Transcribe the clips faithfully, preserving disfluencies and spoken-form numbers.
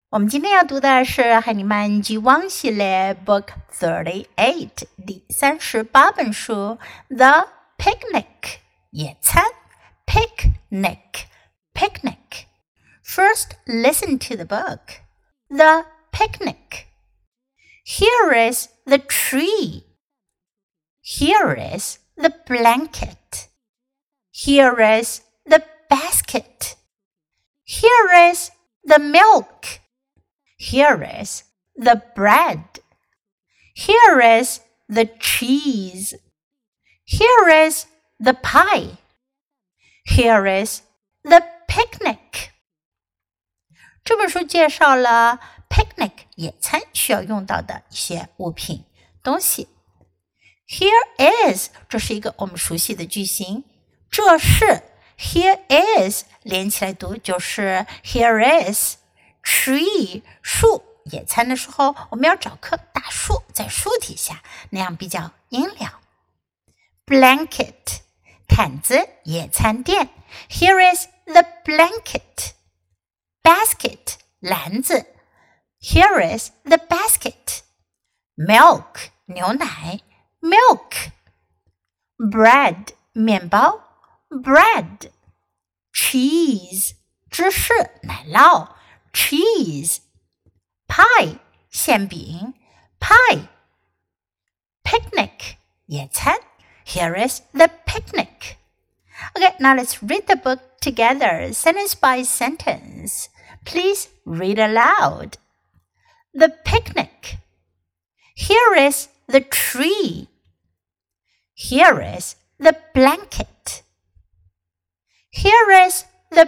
我们今天要读的是海尼曼剧汪系列 Book thirty-eight 第三十八本书 The Picnic 野餐 Picnic Picnic First listen to the book The Picnic Here is the tree Here is the blanket Here is the basket Here is the milk Here is the bread. Here is the cheese. Here is the pie. Here is the picnic. 这本书介绍了 picnic 野餐需要用到的一些物品东西。Here is 这是一个我们熟悉的句型，这是 Here is 连起来读就是 Here is Tree 树，野餐的时候我们要找棵大树在树底下，那样比较阴凉。Blanket 毯子，野餐垫 Here is the blanket. Basket 篮子 Here is the basket. Milk 牛奶 Milk. Bread 面包 Bread. Cheese 芝士奶酪Cheese. Pie 馅饼 Pie. Picnic 野餐 Here is the picnic. Okay, now let's read the book together, sentence by sentence. Please read aloud. The picnic. Here is the tree. Here is the blanket. Here is the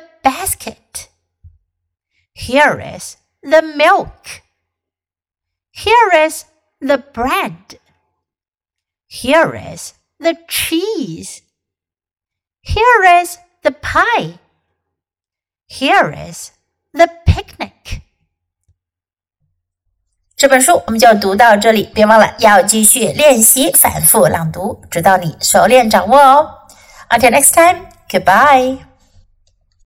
basket.Here is the milk. Here is the bread. Here is the cheese. Here is the pie. Here is the picnic. 这本书我们就读到这里，别忘了要继续练习反复朗读，直到你熟练掌握哦。Until next time, goodbye.